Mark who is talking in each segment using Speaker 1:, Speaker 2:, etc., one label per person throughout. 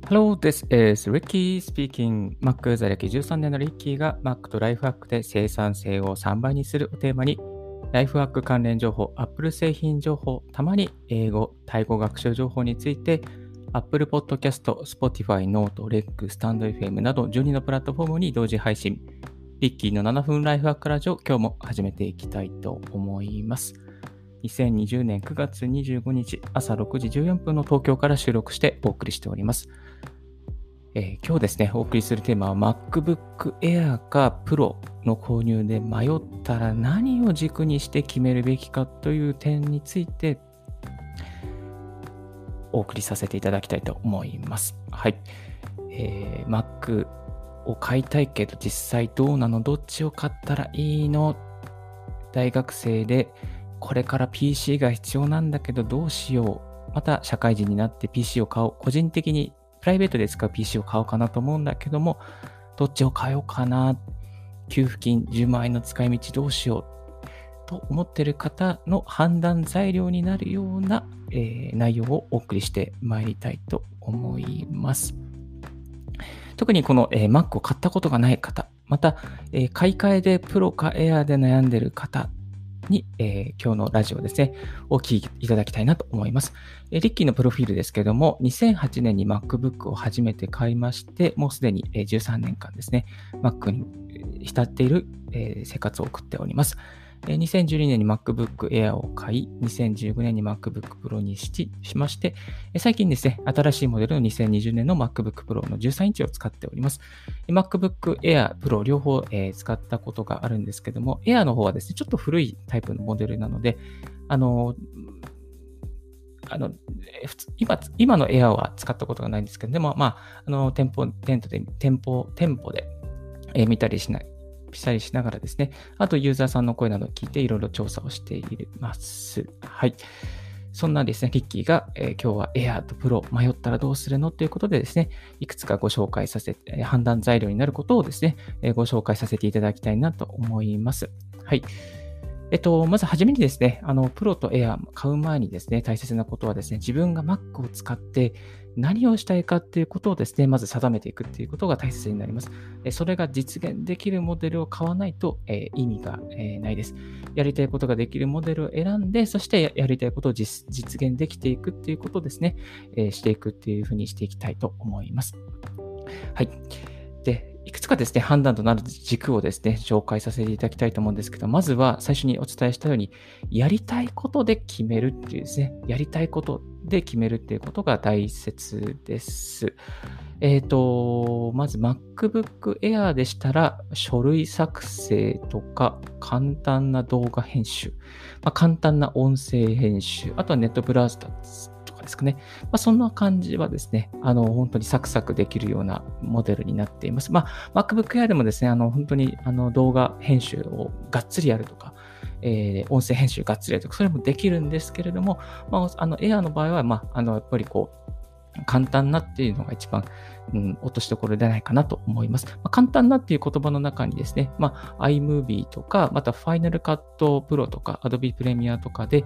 Speaker 1: Hello, this is Ricky speaking. Mac 在歴13年のリッキーが Mac とライフハックで生産性を3倍にするをテーマに、ライフハック関連情報、Apple 製品情報、たまに英語、タイ語学習情報について、Apple Podcast、Spotify、Note、REC、スタンド FM など12のプラットフォームに同時配信。リッキーの7分ライフハックラジオ、今日も始めていきたいと思います。2020年9月25日朝6時14分の東京から収録してお送りしております。今日ですね、お送りするテーマは MacBook Air か Pro の購入で迷ったら何を軸にして決めるべきかという点についてお送りさせていただきたいと思います。はい。Mac を買いたいけど実際どうなの？どっちを買ったらいいの？大学生でこれから PC が必要なんだけどどうしよう？また社会人になって PC を買おう。個人的にプライベートで使う PC を買おうかなと思うんだけども、どっちを買おうかな？給付金10万円の使い道どうしようと思っている方の判断材料になるような、内容をお送りしてまいりたいと思います。特にこの、Mac を買ったことがない方、また、買い替えでプロかエアーで悩んでいる方に、今日のラジオですね、お聞きいただきたいなと思います。リッキーのプロフィールですけれども、2008年に MacBook を初めて買いまして、もうすでに13年間ですね、Mac に浸っている生活を送っております。2012年に MacBook Air を買い、2015年に MacBook Pro にしまして、最近ですね、新しいモデルの2020年の MacBook Pro の13インチを使っております。MacBook Air Pro 両方使ったことがあるんですけども、Air の方はですね、ちょっと古いタイプのモデルなので、今の Air は使ったことがないんですけど、でも、店舗で見たりしたりしながらですね、あとユーザーさんの声などを聞いていろいろ調査をしています。はい。そんなですね、リッキーが、今日は Air と Pro 迷ったらどうするのということでですね、いくつかご紹介させて、判断材料になることをですね、ご紹介させていただきたいなと思います。はい。まずはじめにですね、プロと Air 買う前にですね、大切なことはですね、自分が Mac を使って何をしたいかっていうことをですね、まず定めていくっていうことが大切になります。それが実現できるモデルを買わないと、意味が、ないです。やりたいことができるモデルを選んで、そしてやりたいことを実現できていくっていうことをですね、していくっていうふうにしていきたいと思います。はい。で、いくつかですね、判断となる軸をですね、紹介させていただきたいと思うんですけど、まずは最初にお伝えしたように、やりたいことで決めるっていうですね、やりたいことで決めるっていうことが大切です。まず MacBook Air でしたら、書類作成とか、簡単な動画編集、簡単な音声編集、あとはネットブラウザとかですかね。そんな感じはですね、本当にサクサクできるようなモデルになっています。MacBook Air でもですね、本当に動画編集をがっつりやるとか、音声編集がっつりやるとか、それもできるんですけれども、Air の場合は、やっぱり簡単なっていうのが一番、落としどころではないかなと思います。簡単なっていう言葉の中にですね、iMovie とか、また Final Cut Pro とか Adobe Premiere とかで、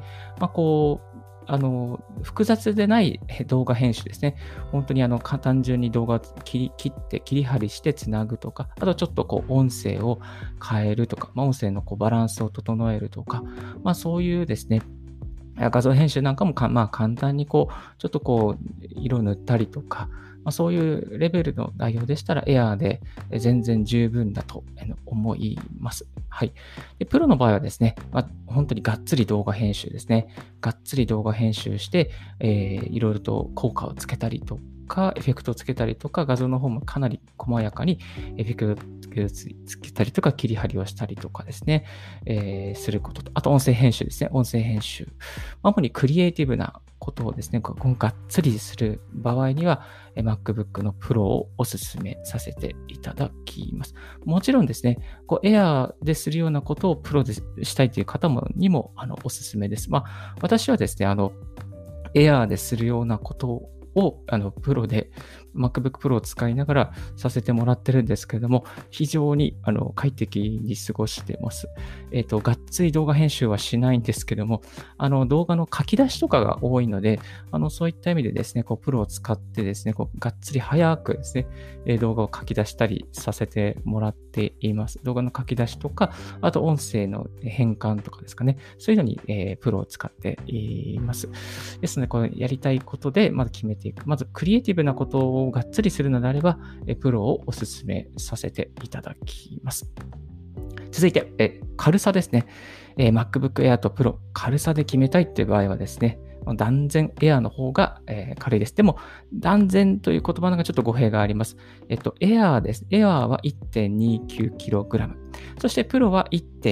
Speaker 1: 複雑でない動画編集ですね。本当に単純に動画を切って切り張りしてつなぐとか、あとちょっと音声を変えるとか、音声のバランスを整えるとか、そういうですね、画像編集なんかも簡単にちょっと色を塗ったりとか、そういうレベルの内容でしたら Air で全然十分だと思います。はい。で、プロの場合はですね、本当にがっつり動画編集ですね。がっつり動画編集して、いろいろと効果をつけたりとか、エフェクトをつけたりとか、画像の方もかなり細やかにエフェクトをつけたりとか、切り張りをしたりとかですね、することと、あと音声編集ですね。音声編集。主にクリエイティブなことをですね、がっつりする場合には、MacBook の Pro をお勧めさせていただきます。もちろんですね、Air でするようなことを Pro でしたいという方にもお勧めです。私はですね、Air でするようなことをプロで MacBook Pro を使いながらさせてもらってるんですけれども、非常に快適に過ごしてます。がっつり動画編集はしないんですけども、動画の書き出しとかが多いので、そういった意味でですね、プロを使ってですね、がっつり早くですね、動画を書き出したりさせてもらっています。動画の書き出しとか、あと音声の変換とかですかね、そういうのに、プロを使っています。ですので、このやりたいことでまず決めていく。まず、クリエイティブなことをがっつりするのであれば、プロをお勧めさせていただきます。続いて、軽さですね。MacBook Air と Pro、軽さで決めたいっていう場合はですね、断然 Air の方が、軽いです。でも、断然という言葉がちょっと語弊があります。Air です。Air は 1.29kg。そして Pro は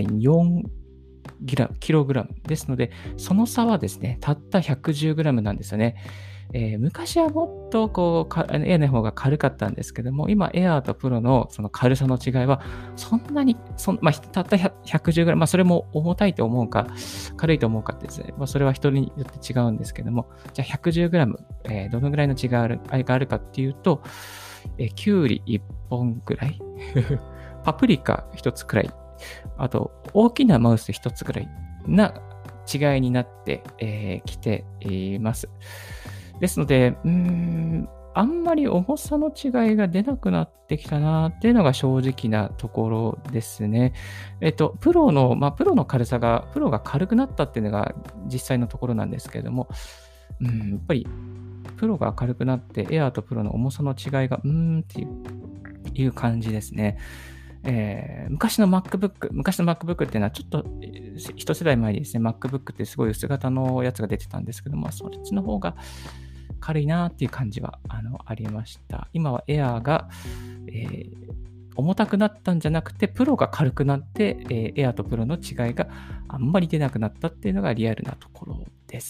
Speaker 1: 1.4kg ですので、その差はですね、たった 110g なんですよね。昔はもっとエアの方が軽かったんですけども、今、エアーとプロのその軽さの違いは、そんなに、たった 110g、それも重たいと思うか、軽いと思うかってですね、それは人によって違うんですけども、じゃあ 110g、どのぐらいの違いがあるかっていうと、きゅうり1本ぐらい、パプリカ1つくらい、あと、大きなマウス1つぐらいな違いになってきています。ですので、あんまり重さの違いが出なくなってきたなっていうのが正直なところですね。プロの軽さが、プロが軽くなったっていうのが実際のところなんですけれども、やっぱりプロが軽くなって、エアーとプロの重さの違いが、っていう感じですね。昔の MacBook っていうのはちょっと一世代前にですね、MacBook ってすごい薄型のやつが出てたんですけども、そっちの方が軽いなっていう感じはありました。今は Air が、重たくなったんじゃなくて、プロが軽くなって、Air とプロの違いがあんまり出なくなったっていうのがリアルなところです。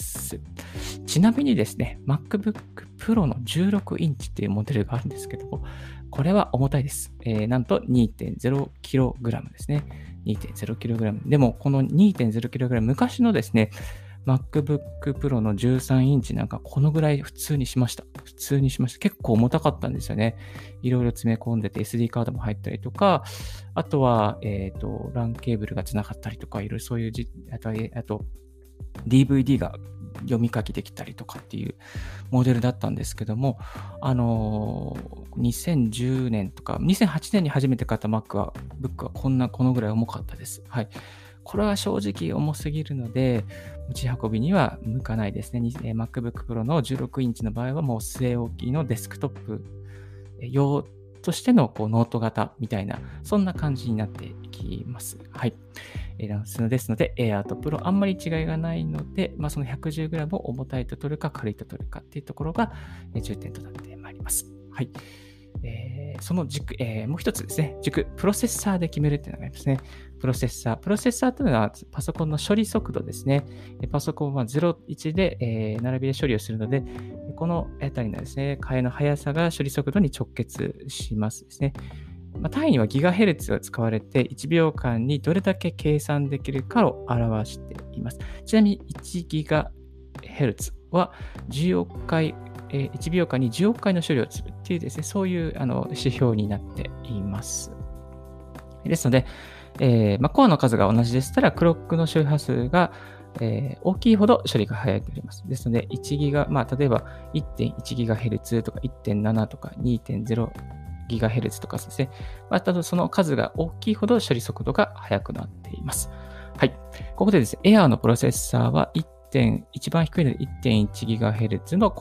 Speaker 1: ちなみにですね、MacBook Pro の16インチっていうモデルがあるんですけども、これは重たいです。なんと 2.0kg ですね。2.0kg。でも、この 2.0kg、昔のですね、MacBook Pro の13インチなんかこのぐらい普通にしました。結構重たかったんですよね。いろいろ詰め込んでて SD カードも入ったりとか、あとは、LAN ケーブルが繋がったりとか、いろいろそういうあと DVD が読み書きできたりとかっていうモデルだったんですけども、2010年とか、2008年に初めて買った MacBook はこのぐらい重かったです。はい。これは正直重すぎるので、持ち運びには向かないですね。MacBook Pro の16インチの場合はもう据え置きのデスクトップ用としてのノート型みたいな、そんな感じになっていきます。はい。ですので、Air と Pro あんまり違いがないので、その 110g を重たいと取るか軽いと取るかっていうところが重点となってまいります。はい。その軸、もう一つですね、プロセッサーで決めるっていうのがありますね。プロセッサーというのはパソコンの処理速度ですね。パソコンは0、1で、並びで処理をするので、このあたりのですね、替えの速さが処理速度に直結しますですね。単位にはギガヘルツが使われて、1秒間にどれだけ計算できるかを表しています。ちなみに1ギガヘルツは10億回、1秒間に10億回の処理をするっていうですね、そういう指標になっています。ですので、コアの数が同じでしたら、クロックの周波数が、大きいほど処理が早いとなります。ですので、1ギガ、例えば 1.1GHz とか 1.7 とか 2.0GHz とかですね。その数が大きいほど処理速度が速くなっています。はい。ここでですね、Air のプロセッサーは一番低いので 1.1GHz の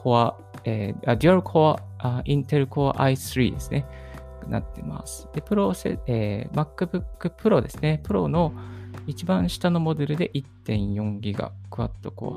Speaker 1: Dual Core Intel Core i3 ですね。なってます。で、MacBook Pro ですね。Pro の一番下のモデルで 1.4GB Quad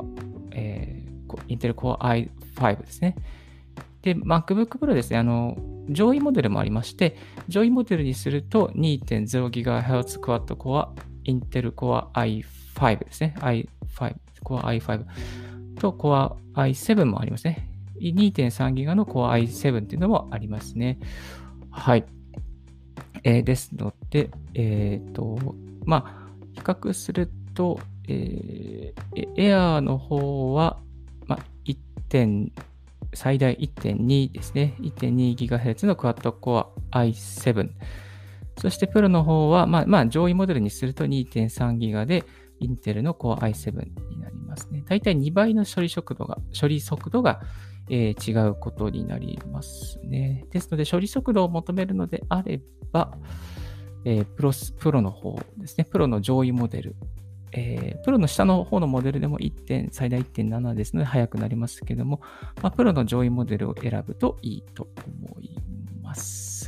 Speaker 1: Core、Intel Core i5 ですね。で、MacBook Pro ですね。上位モデルもありまして、上位モデルにすると 2.0GHz Quad Core Intel Core i5 ですね。Core i5 と Core i7 もありますね。2.3GB の Core i7 っていうのもありますね。はい。ですので、比較すると、Air の方は、 最大 1.2 ですね。1.2GHz のクワッドコア i7。そしてプロの方は、上位モデルにすると 2.3GB で、インテルの Core i7 になりますね。だいたい2倍の処理速度が、違うことになりますね。ですので、処理速度を求めるのであれば、プロの方ですね。プロの上位モデル。プロの下の方のモデルでも最大 1.7 ですので速くなりますけども、プロの上位モデルを選ぶといいと思います。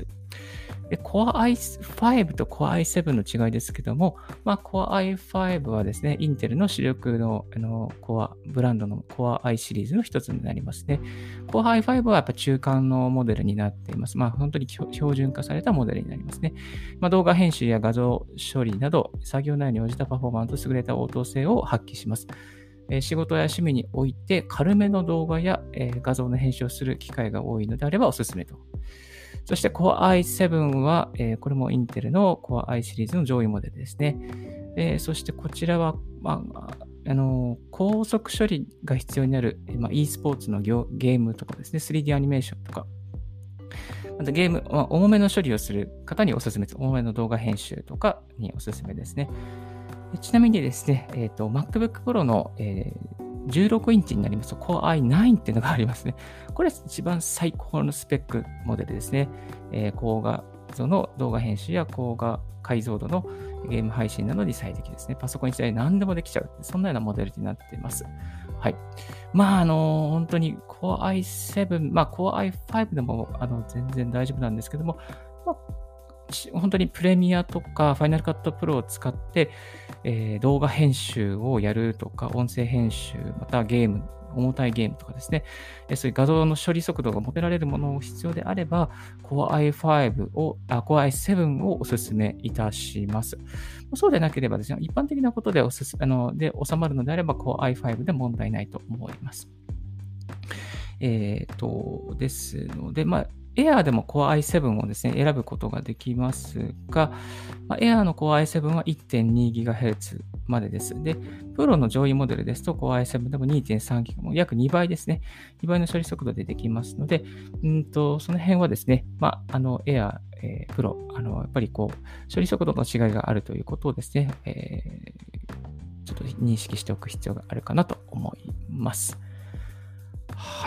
Speaker 1: で、Core i5 と Core i7 の違いですけども、Core i5 はですね、インテルの主力の、ブランドの Core i シリーズの一つになりますね。Core i5 はやっぱ中間のモデルになっています。本当に標準化されたモデルになりますね。動画編集や画像処理など、作業内容に応じたパフォーマンスと優れた応答性を発揮します。仕事や趣味において軽めの動画や、画像の編集をする機会が多いのであればおすすめと。そして Core i7 は、これもインテルの Core i シリーズの上位モデルですね。そしてこちらは、高速処理が必要になる、e スポーツのゲームとかですね、3D アニメーションとか、またゲーム、重めの処理をする方におすすめです。重めの動画編集とかにおすすめですね。ちなみにですね、MacBook Pro の、16インチになりますと Core i9 っていうのがありますね。これ一番最高のスペックモデルですね。高画像の動画編集や高画解像度のゲーム配信などに最適ですね。パソコン一台何でもできちゃう。そんなようなモデルになっています。はい。本当に Core i7、Core i5 でも全然大丈夫なんですけども、本当にプレミアとかファイナルカットプロを使って、動画編集をやるとか、音声編集、また重たいゲームとかですね、そういう画像の処理速度が求められるものを必要であれば、Core i7 をお勧めいたします。そうでなければですね、一般的なことで収まるのであれば、Core i5 で問題ないと思います。ですので、Air でも Core i7 をですね、選ぶことができますが、Air の Core i7 は 1.2GHz までです。で、プロの上位モデルですと Core i7 でも 2.3GHz、も約2倍ですね。2倍の処理速度でできますので、その辺はですね、Air、プロ、やっぱり処理速度の違いがあるということをですね、ちょっと認識しておく必要があるかなと思います。はい。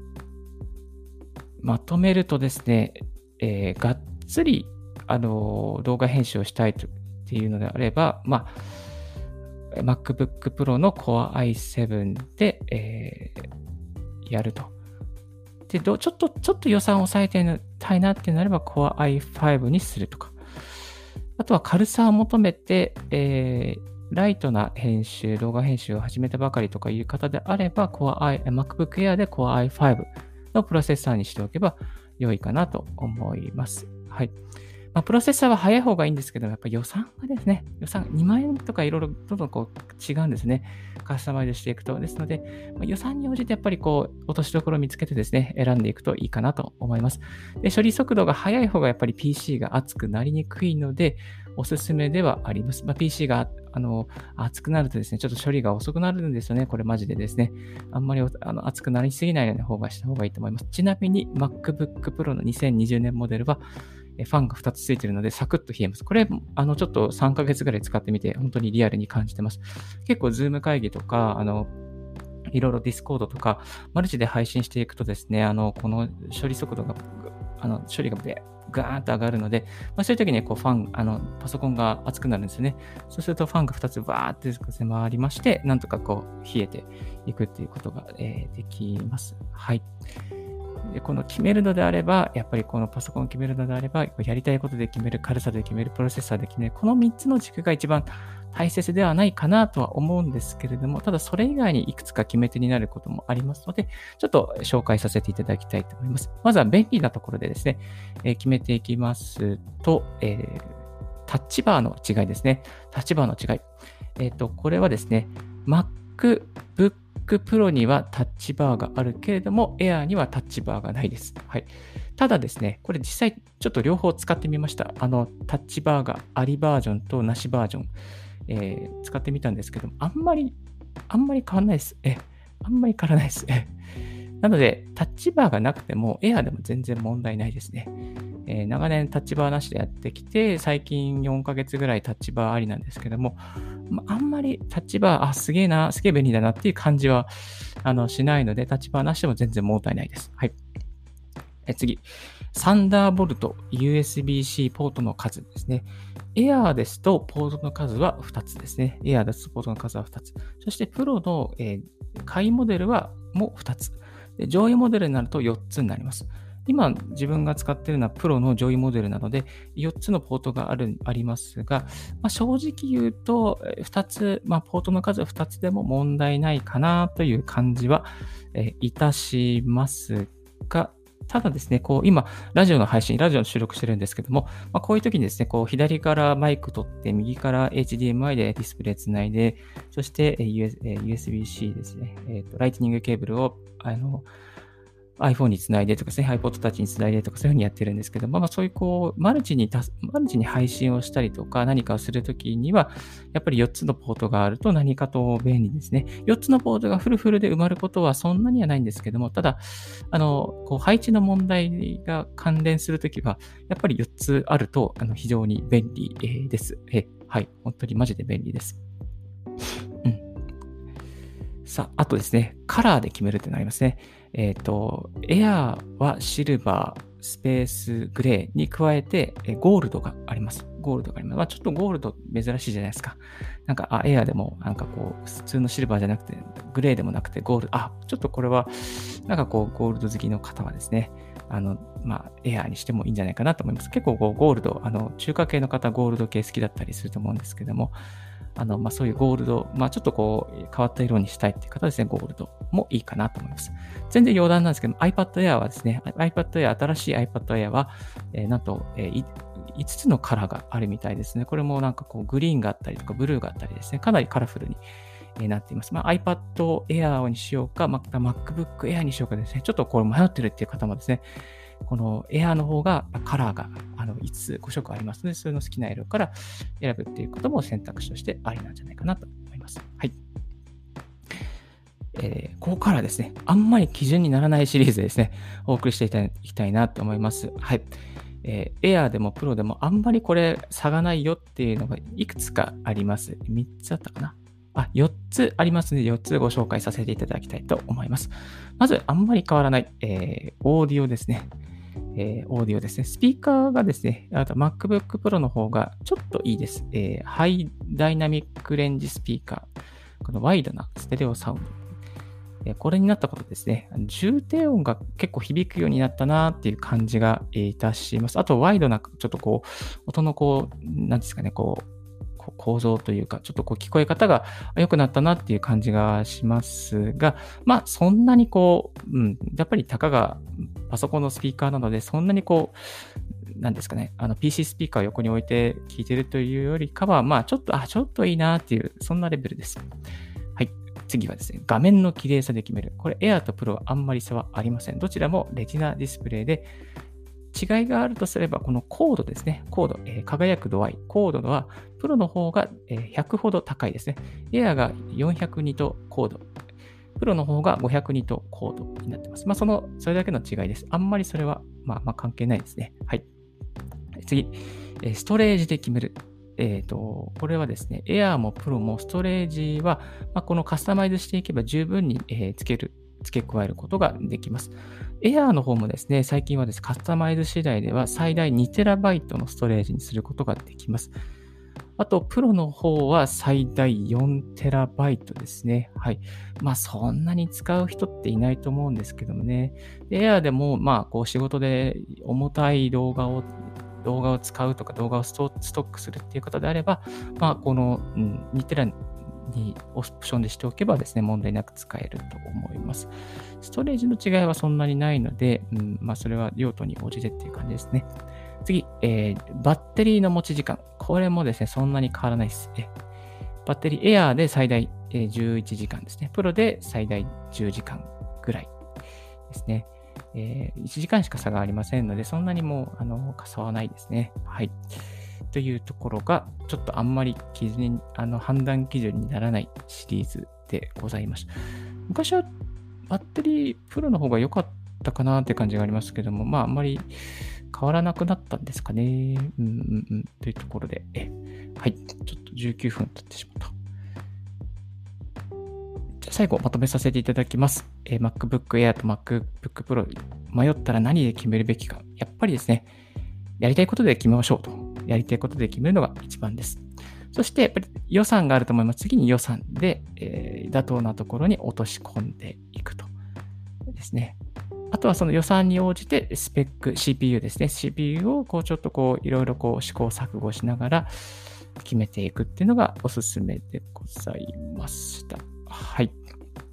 Speaker 1: まとめるとですね、がっつり動画編集をしたいっていうのであれば、MacBook Pro の Core i7 で、やると。で、ちょっと予算を抑えてたいなってなれば Core i5 にするとか。あとは軽さを求めて、ライトな動画編集を始めたばかりとかいう方であれば、MacBook Air で Core i5 のプロセッサーにしておけば良いかなと思います。はい。プロセッサーは早い方がいいんですけど、やっぱり予算がですね、2万円とかいろいろどんどん違うんですね。カスタマイズしていくと。ですので、予算に応じてやっぱり落としどころを見つけてですね、選んでいくといいかなと思います。で、処理速度が速い方がやっぱり PC が熱くなりにくいので、おすすめではあります。PC が熱くなるとですね、ちょっと処理が遅くなるんですよね。これマジでですね。あんまり熱くなりすぎないような方がした方がいいと思います。ちなみに MacBook Pro の2020年モデルは、ファンが2つついているので、サクッと冷えます。これ、ちょっと3ヶ月ぐらい使ってみて、本当にリアルに感じてます。結構、Zoom 会議とか、いろいろ Discord とか、マルチで配信していくとですね、この処理速度が、処理がガーンと上がるので、そういう時にパソコンが熱くなるんですよね。そうするとファンが2つバーって回りまして、なんとか冷えていくっていうことが、できます。はい。で、この決めるのであれば、やっぱりこのパソコンを決めるのであれば、やりたいことで決める、軽さで決める、プロセッサーで決める、この3つの軸が一番大切ではないかなとは思うんですけれども、ただそれ以外にいくつか決め手になることもありますので、ちょっと紹介させていただきたいと思います。まずは便利なところでですね、決めていきますと、タッチバーの違いですね。タッチバーの違い。これはですね、MacBook Pro にはタッチバーがあるけれども、Air にはタッチバーがないです。はい。ただですね、これ実際ちょっと両方使ってみました。タッチバーがありバージョンとなしバージョン、使ってみたんですけども、あんまり変わらないです。あんまり変わらないです。 なので、タッチバーがなくても、エアーでも全然問題ないですね。長年タッチバーなしでやってきて、最近4ヶ月ぐらいタッチバーありなんですけども、あんまりタッチバー、すげえな、すげえ便利だなっていう感じはしないので、タッチバーなしでも全然問題ないです。はい。次。サンダーボルト USB-C ポートの数ですね。エアーですとポートの数は2つですね。エアーですとポートの数は2つ。そしてプロの、下位モデルはもう2つ。で上位モデルになると4つになります。今自分が使っているのはプロの上位モデルなので4つのポートがありますが、正直言うと2つ、ポートの数は2つでも問題ないかなという感じは、いたしますが、ただですね、今、ラジオの収録してるんですけども、こういう時にですね、左からマイク取って、右から HDMI でディスプレイつないで、そして、USB-C ですね、ライトニングケーブルを、iPhone につないでとかですね、iPod Touch につないでとかそういうふうにやってるんですけども、そういうマルチに配信をしたりとか何かをするときには、やっぱり4つのポートがあると何かと便利ですね。4つのポートがフルで埋まることはそんなにはないんですけども、ただ、配置の問題が関連するときは、やっぱり4つあると非常に便利です。はい、本当にマジで便利です。さあ、あとですね、カラーで決めるってなりますね。エアーはシルバー、スペースグレーに加えて、ゴールドがあります。ちょっとゴールド珍しいじゃないですか。エアーでも、普通のシルバーじゃなくて、グレーでもなくて、ゴールド、ちょっとこれは、ゴールド好きの方はですね、エアーにしてもいいんじゃないかなと思います。結構ゴールド、中華系の方、ゴールド系好きだったりすると思うんですけども、そういうゴールド、ちょっと変わった色にしたいっていう方はですね、ゴールドもいいかなと思います。全然余談なんですけど、iPad Air はですね、新しい iPad Air は、なんと、5つのカラーがあるみたいですね。これもグリーンがあったりとか、ブルーがあったりですね、かなりカラフルになっています。iPad Air にしようか、また MacBook Air にしようかですね、ちょっとこれ迷ってるっていう方もですね、この Air の方がカラーが5つ5色ありますので、それの好きな色から選ぶっていうことも選択肢としてありなんじゃないかなと思います。はい。ここからですね、あんまり基準にならないシリーズですね、お送りしていきたいなと思います。はい。Air でも Pro でもあんまりこれ差がないよっていうのがいくつかあります。3つあったかな。4つありますので、4つご紹介させていただきたいと思います。まず、あんまり変わらない、オーディオですね。オーディオですね。スピーカーがですね、あと MacBook Pro の方がちょっといいです。ハイダイナミックレンジスピーカー。このワイドなステレオサウンド。これになったことですね。重低音が結構響くようになったなっていう感じがいたします。あと、ワイドな、ちょっと音のなんですかね、構造というか、ちょっと聞こえ方が良くなったなっていう感じがしますが、そんなにやっぱりたかがパソコンのスピーカーなので、そんなになんですかね、PC スピーカーを横に置いて聞いてるというよりかは、ちょっといいなっていう、そんなレベルです。はい。次はですね、画面の綺麗さで決める。これ Air と Pro はあんまり差はありません。どちらもレティナディスプレイで、違いがあるとすれば、この高度ですね。高度、輝く度合い。高度は、プロの方が100ほど高いですね。エアが400ニト高度。プロの方が500ニト高度になっています。それだけの違いです。あんまりそれは、関係ないですね。はい。次、ストレージで決める。これはですね、エアもプロもストレージは、このカスタマイズしていけば十分に、付け加えることができます。Air の方もですね、最近はですね、カスタマイズ次第では最大 2TB のストレージにすることができます。あと、プロの方は最大 4TB ですね。はい。そんなに使う人っていないと思うんですけどもね。Air でも、仕事で重たい動画を使うとか、動画をストックするっていう方であれば、この、2TBにオプションでしておけばですね、問題なく使えると思います。ストレージの違いはそんなにないので、それは用途に応じてっていう感じですね。次、バッテリーの持ち時間。これもですね、そんなに変わらないです。バッテリー、Air で最大11時間ですね。プロで最大10時間ぐらいですね。1時間しか差がありませんので、そんなにもう差はないですね。はい。というところが、ちょっとあんまり判断基準にならないシリーズでございました。昔はバッテリープロの方が良かったかなって感じがありますけども、あんまり変わらなくなったんですかね。というところで、はい、ちょっと19分経ってしまった。じゃあ最後まとめさせていただきます。MacBook Air と MacBook Pro 迷ったら何で決めるべきか。やっぱりですね、やりたいことで決めましょうと。やりたいことで決めるのが一番です。そして、やっぱり予算があると思います。次に予算で、妥当なところに落とし込んでいくとですね。あとはその予算に応じてスペック、CPU ですね。CPU をちょっといろいろ試行錯誤しながら決めていくっていうのがおすすめでございました。はい。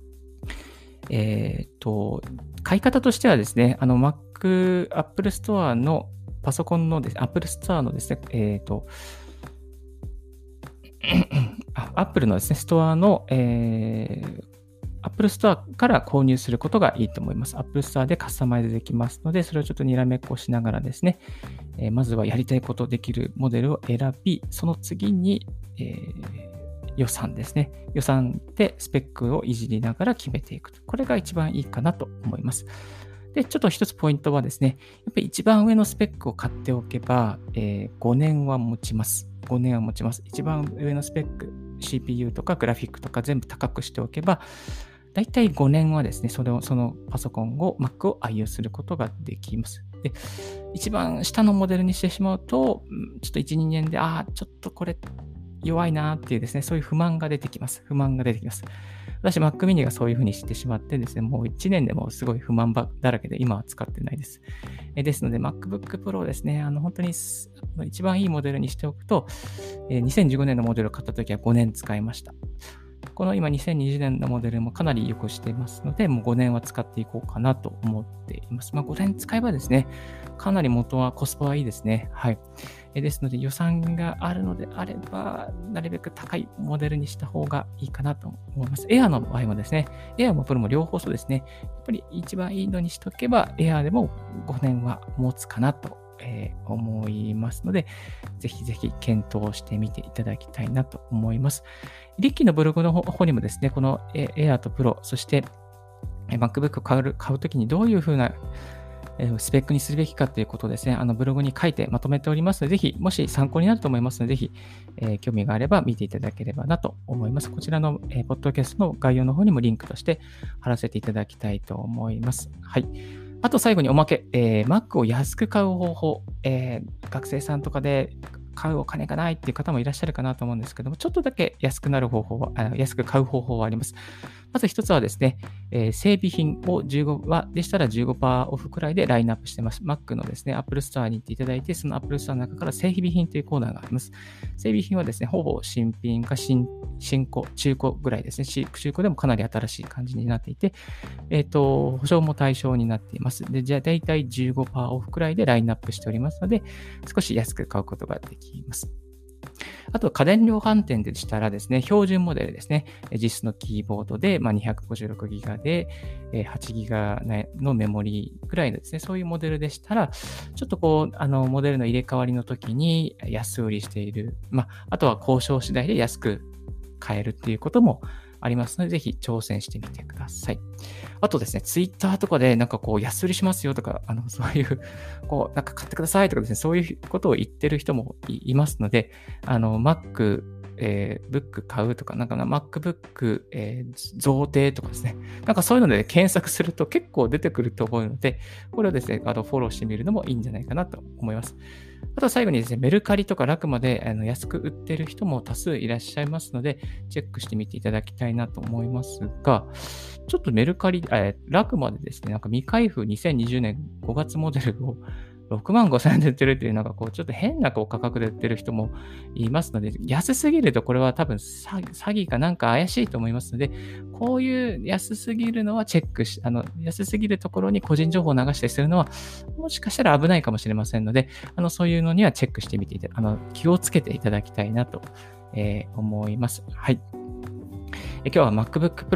Speaker 1: 買い方としてはですね、Apple Store のパソコンのですね、Apple Store のですね、Apple のですね、ストアの、Apple Store から購入することがいいと思います。Apple Store でカスタマイズできますので、それをちょっとにらめっこしながらですね、まずはやりたいことできるモデルを選び、その次に、予算ですね。予算でスペックをいじりながら決めていくと。これが一番いいかなと思います。で、ちょっと一つポイントはですね、やっぱり一番上のスペックを買っておけば、5年は持ちます。5年は持ちます。一番上のスペック、CPU とかグラフィックとか全部高くしておけば、だいたい5年はですね、そのパソコンを、Mac を愛用することができます。で、一番下のモデルにしてしまうと、ちょっと1、2年で、ちょっとこれ弱いなっていうですね、そういう不満が出てきます。私、Mac mini がそういう風にしてしまってですね、もう1年でもすごい不満だらけで今は使ってないです。ですので、MacBook Pro ですね、本当に一番いいモデルにしておくと、2015年のモデルを買った時は5年使いました。この今2020年のモデルもかなり良くしていますので、もう5年は使っていこうかなと思っています。5年使えばですね、かなりコスパはいいですね。はい。ですので予算があるのであれば、なるべく高いモデルにした方がいいかなと思います。Air の場合もですね、Air も Pro も両方そうですね、やっぱり一番いいのにしとけば、Air でも5年は持つかなと思いますので、ぜひぜひ検討してみていただきたいなと思います。リッキーのブログの方にもですね、この Air と Pro、そして MacBook を買うときにどういうふうなスペックにするべきかということをですね、ブログに書いてまとめておりますので、ぜひ、もし参考になると思いますので、ぜひ、興味があれば見ていただければなと思います。こちらの、ポッドキャストの概要の方にもリンクとして貼らせていただきたいと思います。はい。あと最後におまけ、Mac を安く買う方法、学生さんとかで買うお金がないっていう方もいらっしゃるかなと思うんですけども、ちょっとだけ安く買う方法はあります。まず一つはですね、整備品をでしたら15%オフくらいでラインナップしてます。Mac のですね、Apple Store に行っていただいて、その Apple Store の中から整備品というコーナーがあります。整備品はですね、ほぼ新品か新古、中古ぐらいですね。中古でもかなり新しい感じになっていて、保証も対象になっています。で、じゃあ大体15%オフくらいでラインナップしておりますので、少し安く買うことができます。あと、家電量販店でしたらですね、標準モデルですね、実質のキーボードで、256GB で、8GB のメモリーくらいのですね、そういうモデルでしたら、ちょっとモデルの入れ替わりの時に安売りしている、あとは交渉次第で安く買えるっていうこともありますので、ぜひ挑戦してみてください。あとですね、ツイッターとかで安売りしますよとか、そういう、買ってくださいとかですね、そういうことを言ってる人もいますので、Mac、Book 買うとか、MacBook、贈呈とかですね、そういうので検索すると結構出てくると思うので、これをですね、フォローしてみるのもいいんじゃないかなと思います。あと最後にですね、メルカリとかラクマで安く売ってる人も多数いらっしゃいますので、チェックしてみていただきたいなと思いますが、ちょっとメルカリ、ラクマでですね、未開封2020年5月モデルを65,000円で売ってるっていう、ちょっと変な価格で売ってる人もいますので、安すぎるとこれは多分詐欺か怪しいと思いますので、こういう安すぎるのはチェック安すぎるところに個人情報を流したりするのは、もしかしたら危ないかもしれませんので、そういうのにはチェックしてみて気をつけていただきたいなと、思います。はい。今日は MacBook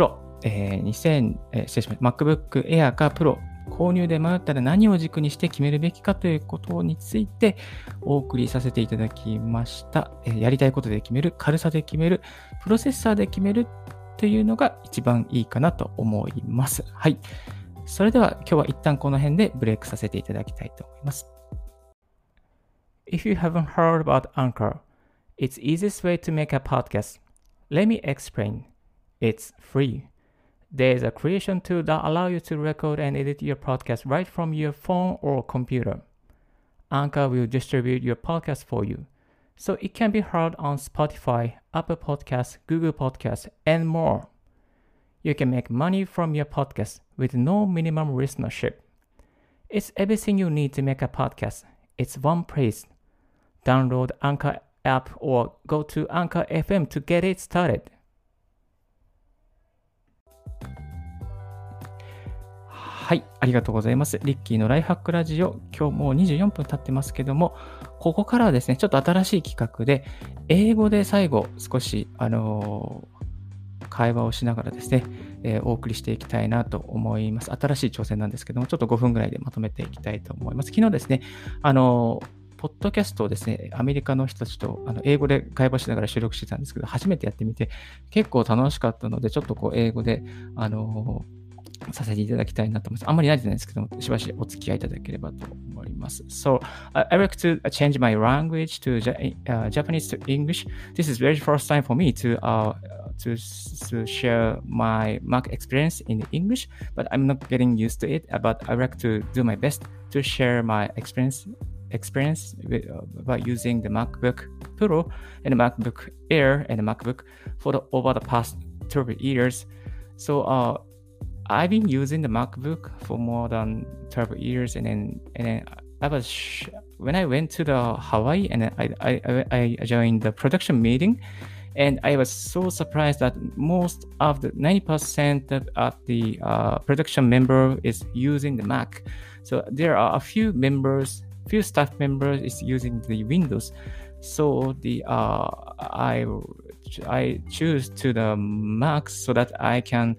Speaker 1: Pro、MacBook Air か Pro、購入で迷ったら何を軸にして決めるべきかということについてお送りさせていただきました。やりたいことで決める、軽さで決める、プロセッサーで決めるっていうのが一番いいかなと思います。はい。それでは今日は一旦この辺でブレイクさせていただきたいと思います。If you haven't heard about Anchor, it's the easiest way to make a podcast. Let me explain. It's free. There's a creation tool that allows you to record and edit your podcast right from your phone or computer. Anchor will distribute your podcast for you, so it can be heard on Spotify, Apple Podcasts, Google Podcasts, and more. You can make money from your podcast with no minimum listenership. It's everything you need to make a podcast. It's one place. Download Anchor app or go to Anchor FM to get it started. はい、ありがとうございます。リッキーのライフハックラジオ、今日もう24分経ってますけども、ここからはですね、ちょっと新しい企画で、英語で最後少し、会話をしながらですね、お送りしていきたいなと思います。新しい挑戦なんですけども、ちょっと5分ぐらいでまとめていきたいと思います。昨日ですね、ポッドキャストをですね、アメリカの人たちと英語で会話しながら収録してたんですけど、初めてやってみて、結構楽しかったので、ちょっとこう英語で、させていただきたいなと思います。あんまり慣れてないんですけども、しばしお付き合いいただければと思います。So, I like to change my language to Japanese to English. This is very first time for me to share my Mac experience in English, but I'm not getting used to it. But I like to do my best to share my experience by using the MacBook Pro and the MacBook Air and the MacBook over the past 12 years. So, I've been using the MacBook for more than 12 years, and then when I went to the Hawaii and I joined the production meeting, and I was so surprised that most of the 90% of the production member is using the Mac. So there are a few staff members is using the Windows. So I choose to the Mac so that I can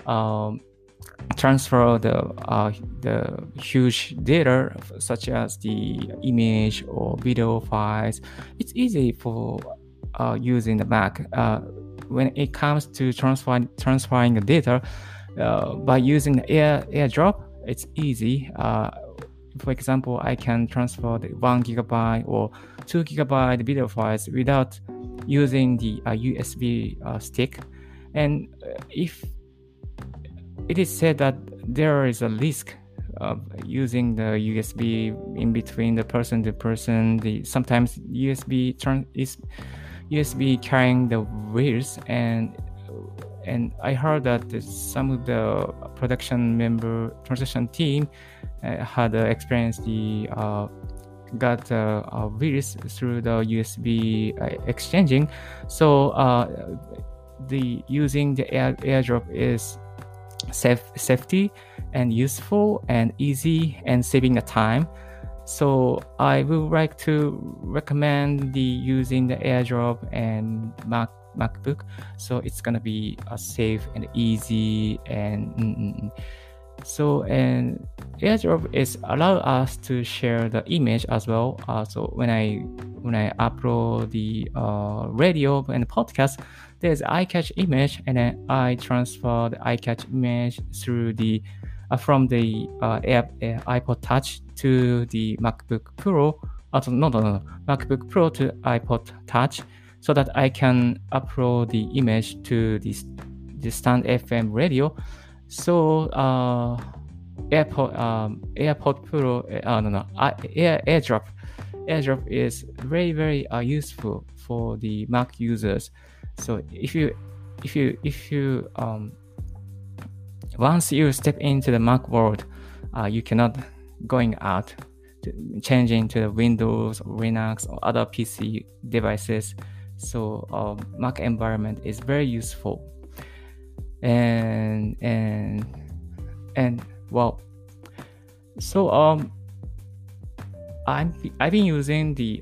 Speaker 1: transfer the huge data such as the image or video files. It's easy for using the Mac. When it comes to transferring the data by using the AirDrop, it's easy. For example, I can transfer the 1 gigabyte or 2 gigabyte video files without using the USB stick. And if it is said that there is a risk of using the USB in between the person to person. Sometimes USB carrying the virus, and I heard that some of the production team had experienced got a virus through the USB exchanging. So using the AirDrop is safety and useful and easy and saving the time. So I would like to recommend using the AirDrop and MacBook. So it's gonna be safe and easy and and AirDrop is allow us to share the image as well. So when I upload the radio and podcast, there's iCatch image, and then I transfer the iCatch image through from the iPod Touch to the MacBook Pro. MacBook Pro to iPod Touch, so that I can upload the image to the Stand FM radio. So AirPod Pro, AirDrop is very, very useful for the Mac users. So if you once you step into the Mac world, you cannot going out changing to the Windows or Linux or other PC devices. So Mac environment is very useful. And well, so I've been using the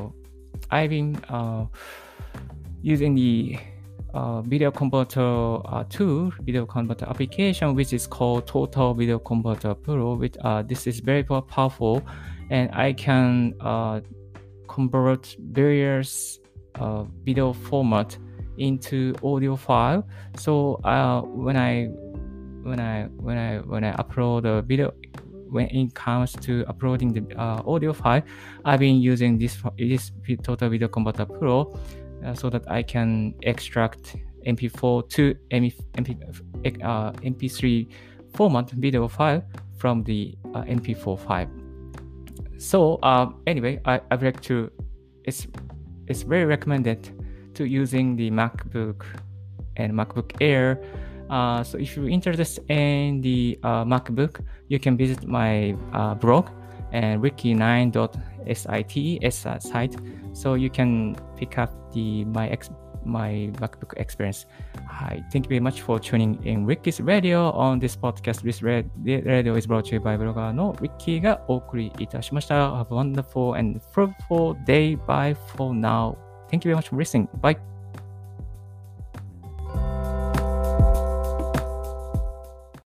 Speaker 1: video converter video converter application, which is called Total Video Converter Pro. This is very powerful, and I can convert various video format into audio file. So when I upload a video, when it comes to uploading the audio file, I've been using this Total Video Converter Pro so that I can extract MP4 to MP3 format video file from the MP4 file. So anyway, I'd like to, it's very recommended to using the MacBook and MacBook Air. So if you're interested in the MacBook, you can visit my blog and ricky9.site site, so you can pick up my MacBook experience. Hi, thank you very much for tuning in Ricky's Radio on this podcast. This radio is brought to you by ブロガーの Ricky がお送りいたしました。Have a wonderful and fruitful day. Bye for now. Thank you very much for listening. Bye.